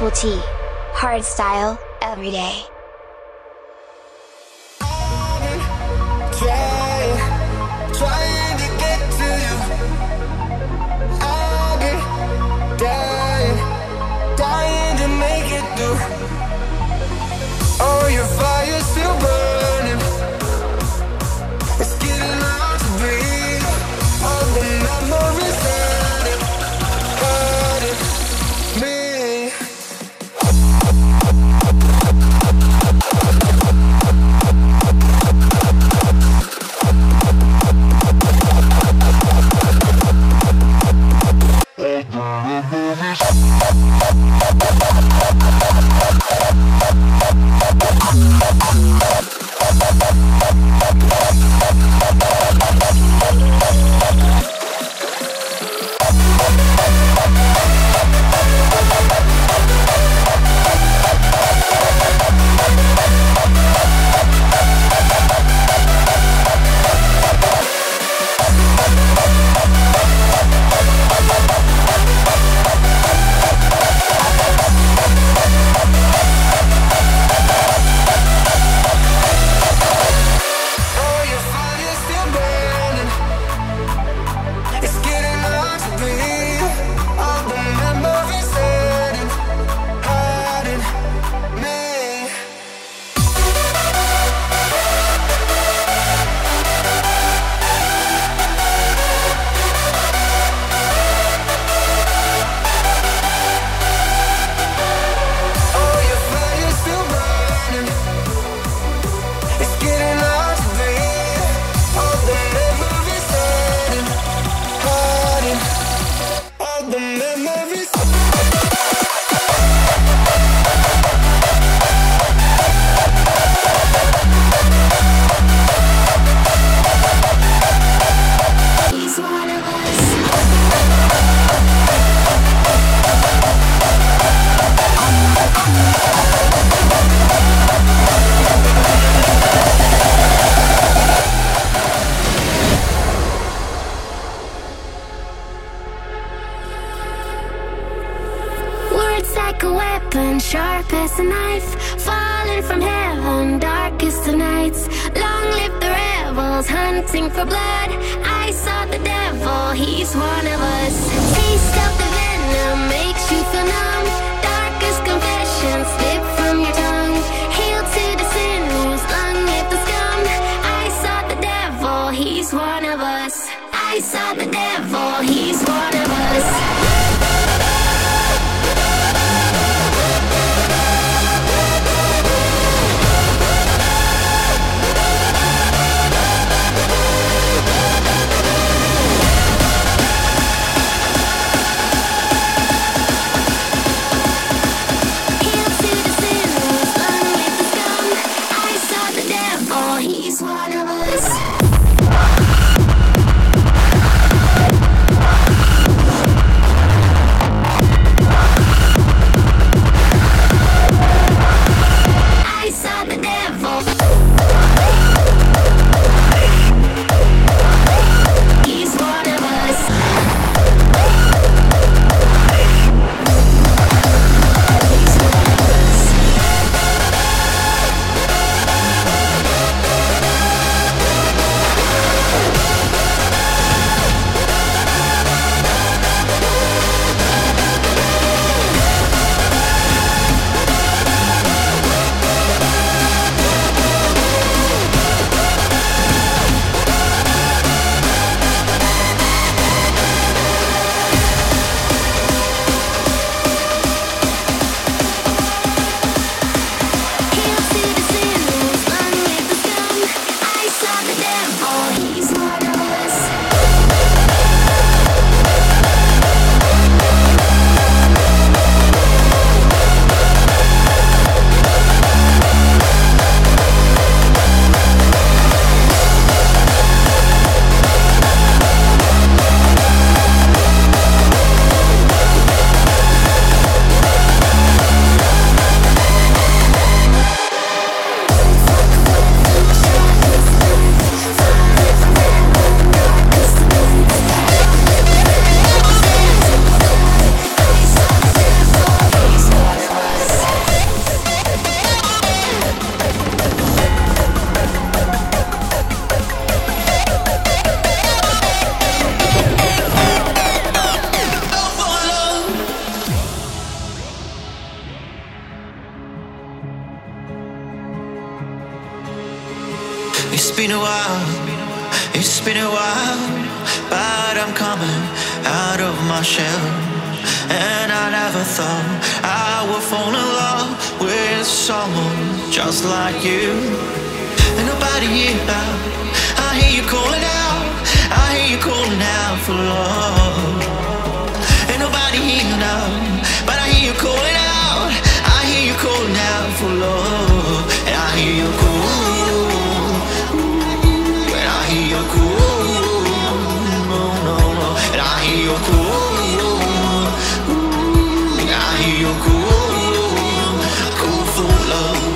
Triple T. Hardstyle, every day. Trying to get to you. I've been dying to make it through. Oh, your fire's still burning. It's getting hard to breathe. All the memories hurting me. Sharp as a knife, falling from heaven, darkest of nights. Long live the rebels, hunting for blood. I saw the devil, he's one of us. Taste of the venom makes you feel numb. Darkest confessions slip from your tongue. Hail to the sinners, long live the scum. I saw the devil, he's one of us. I saw the devil, he's one of us. He's one of us. It's been a while, it's been a while, but I'm coming out of my shell. And I never thought I would fall in love with someone just like you. And nobody here now, I hear you calling out, I hear you calling out for love. Ain't nobody here now, but I hear you calling out, I hear you calling out for love. And I hear you call, and I hear you call, no, no, no. And I hear you call, and I hear you call, call for love.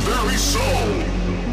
very soul.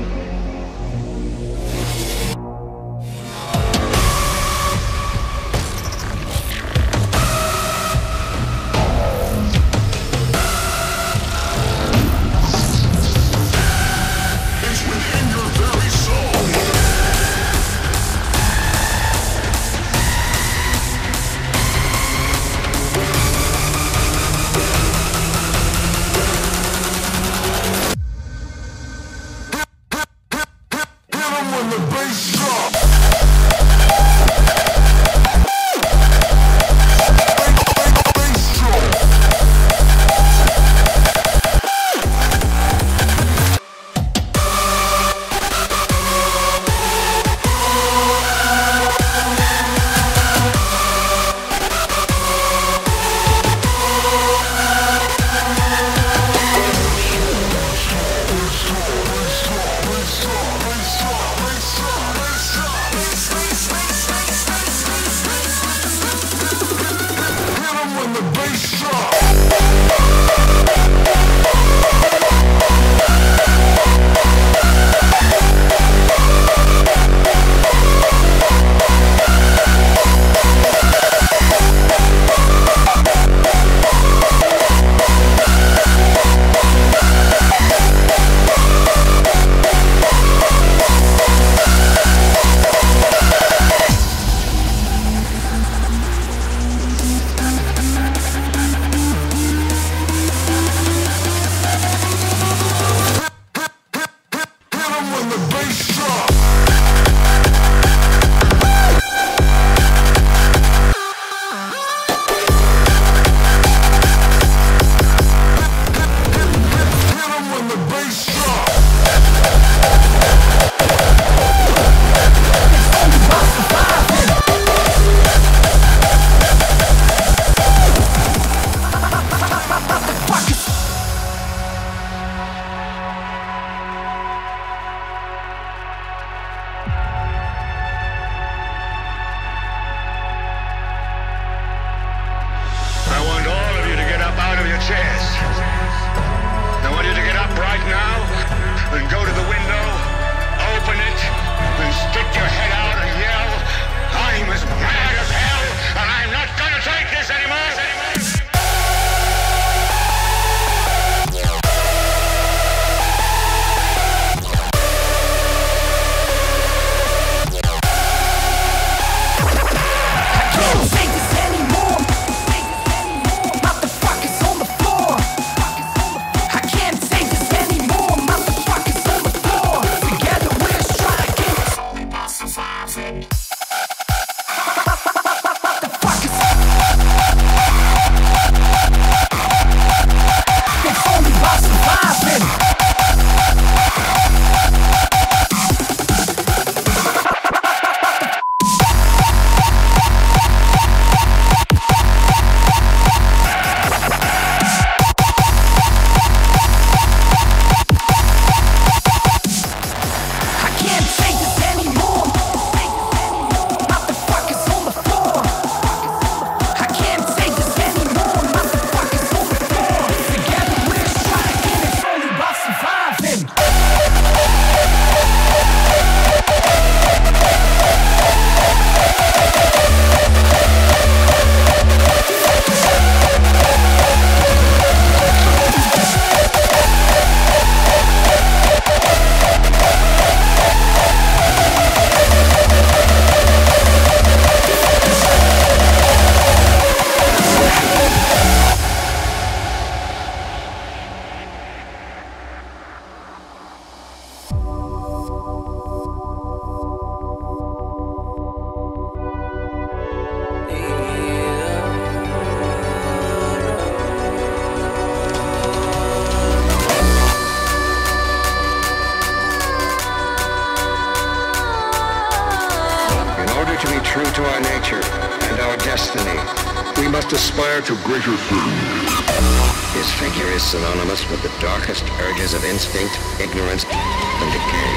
Aspire to greater things. His figure is synonymous with the darkest urges of instinct, ignorance, and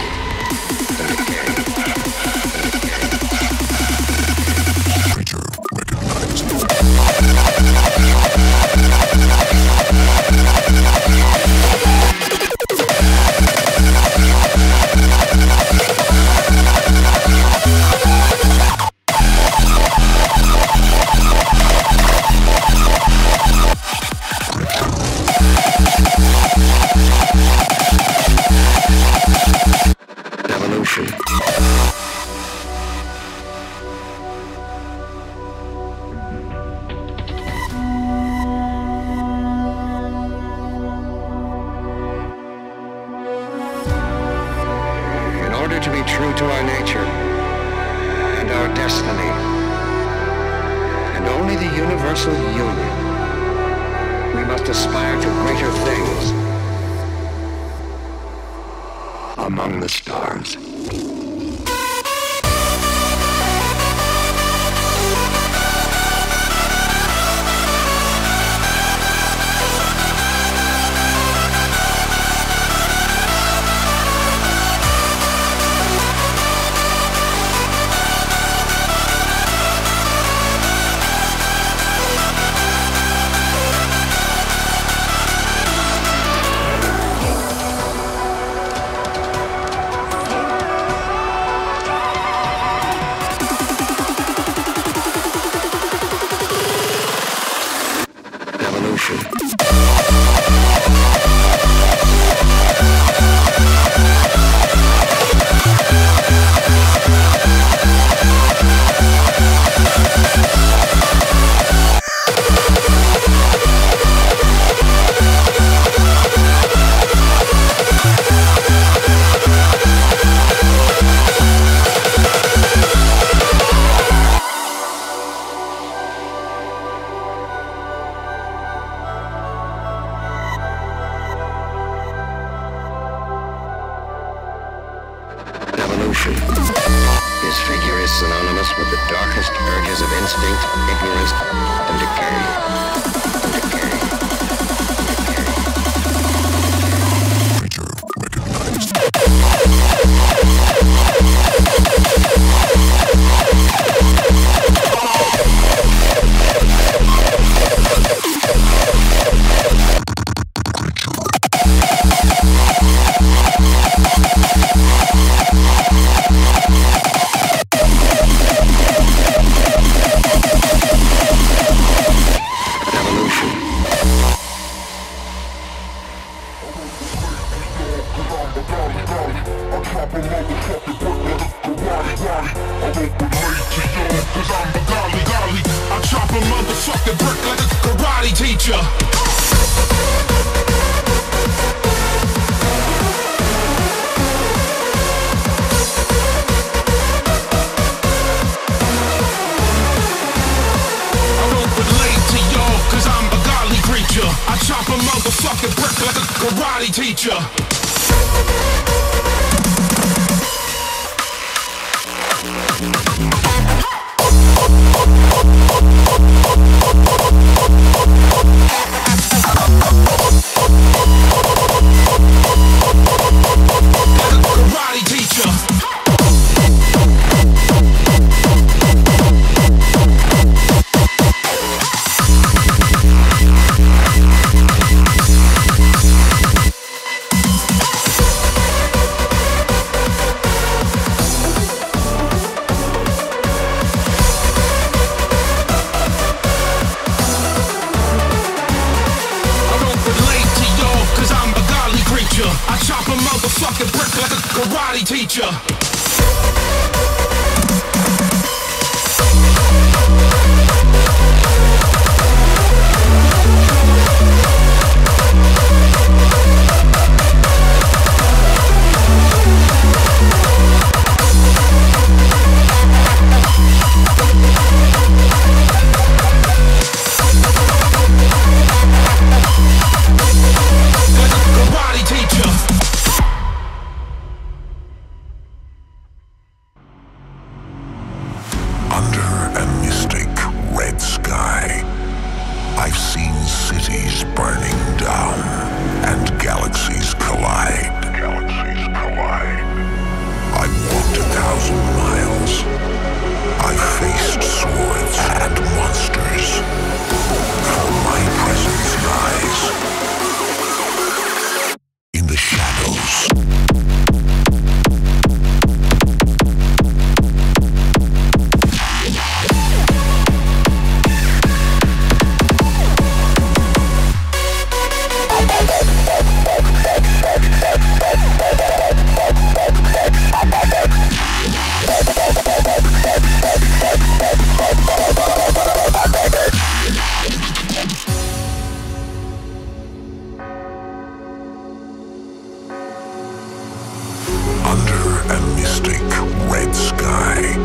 decay. And decay. Creature recognized. universal union. We must aspire to greater things. Among the stars. His figure is synonymous with the darkest urges of instinct, ignorance, and decay. Creature recognized.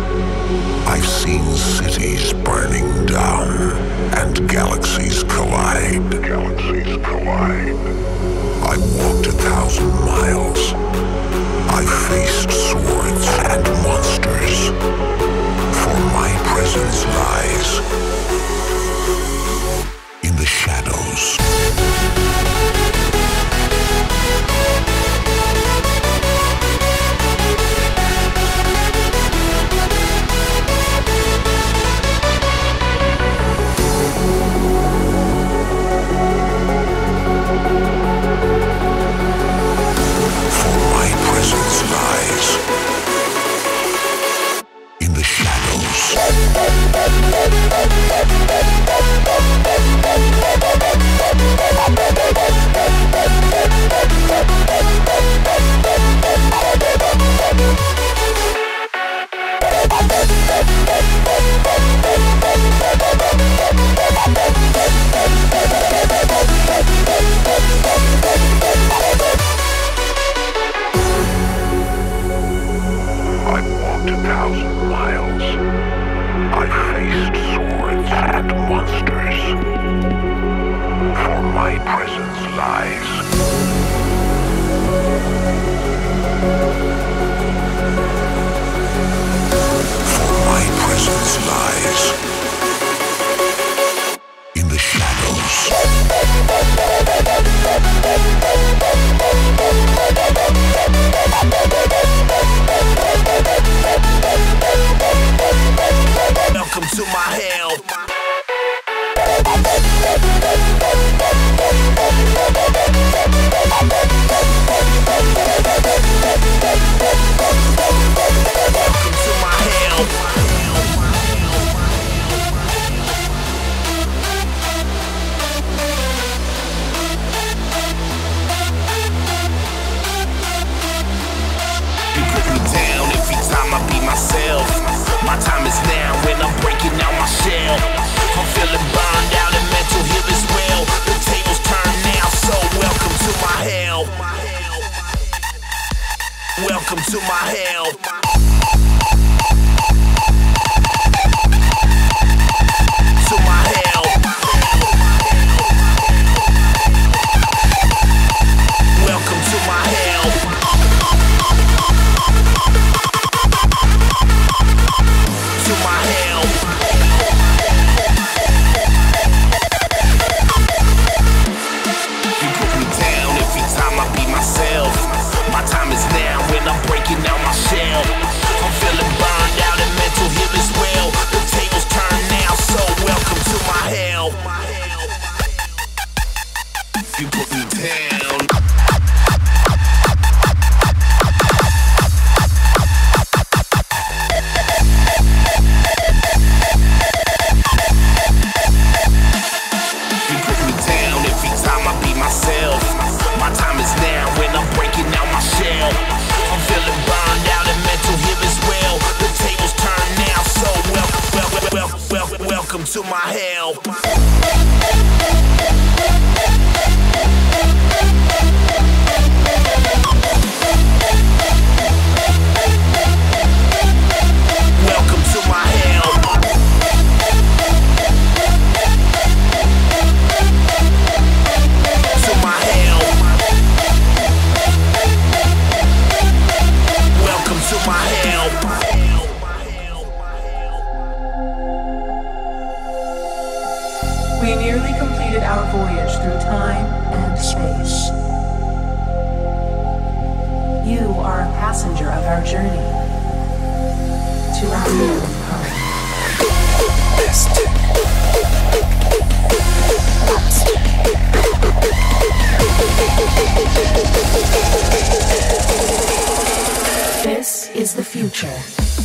I've seen cities burning down and galaxies collide. Galaxies collide. I walked 1,000 miles. I faced swords and monsters. For my presence lies in the shadows. Welcome to my hell. To my hell. Welcome to my hell. To my hell. You put me down every time I be myself. My time is now when I'm breaking out my shell. I'm feeling burned out and mental here as well. The tables turn now, so welcome to my hell. You put me down. You put me down every time I be myself. My time is now when I'm breaking out my shell. I'm feeling burned out and mental here as well. The tables turn now, so welcome to my hell. Welcome to my hell. To my hell. Welcome to my hell. We nearly completed our voyage through time and space. You are a passenger of our journey to our new home. This is the future.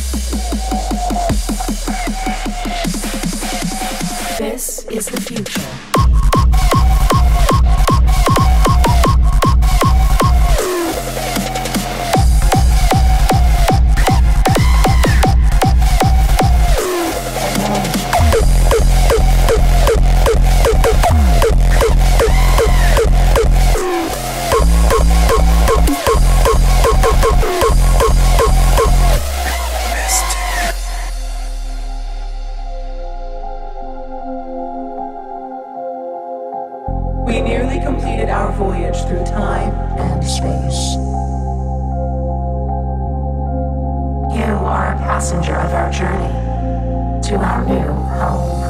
This is the future. nearly completed our voyage through time and space. You are a passenger of our journey to our new home.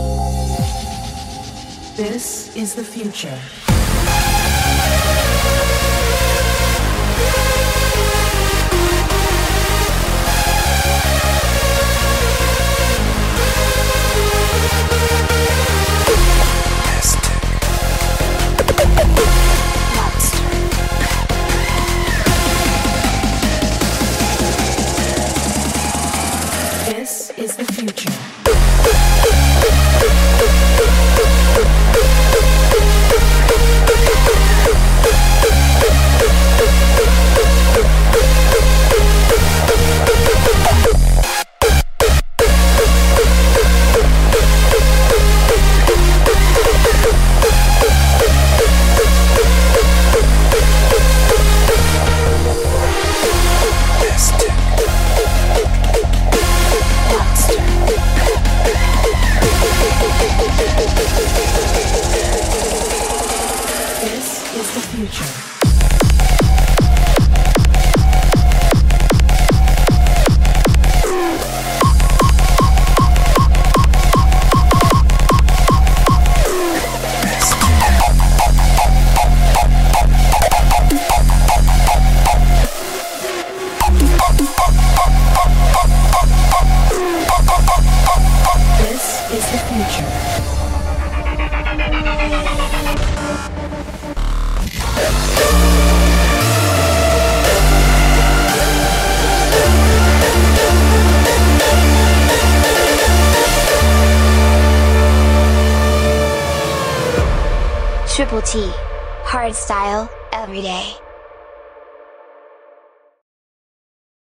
This is the future. This is the future. This is the future. This is the future. Triple T. Hardstyle, every day.